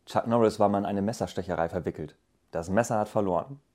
Chuck Norris war mal in eine Messerstecherei verwickelt. Das Messer hat verloren.